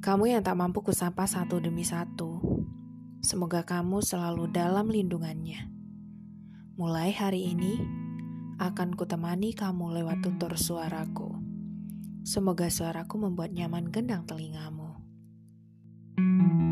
Kamu yang tak mampu kusapa satu demi satu, semoga kamu selalu dalam lindungannya. Mulai hari ini, akan kutemani kamu lewat tutur suaraku. Semoga suaraku membuat nyaman gendang telingamu.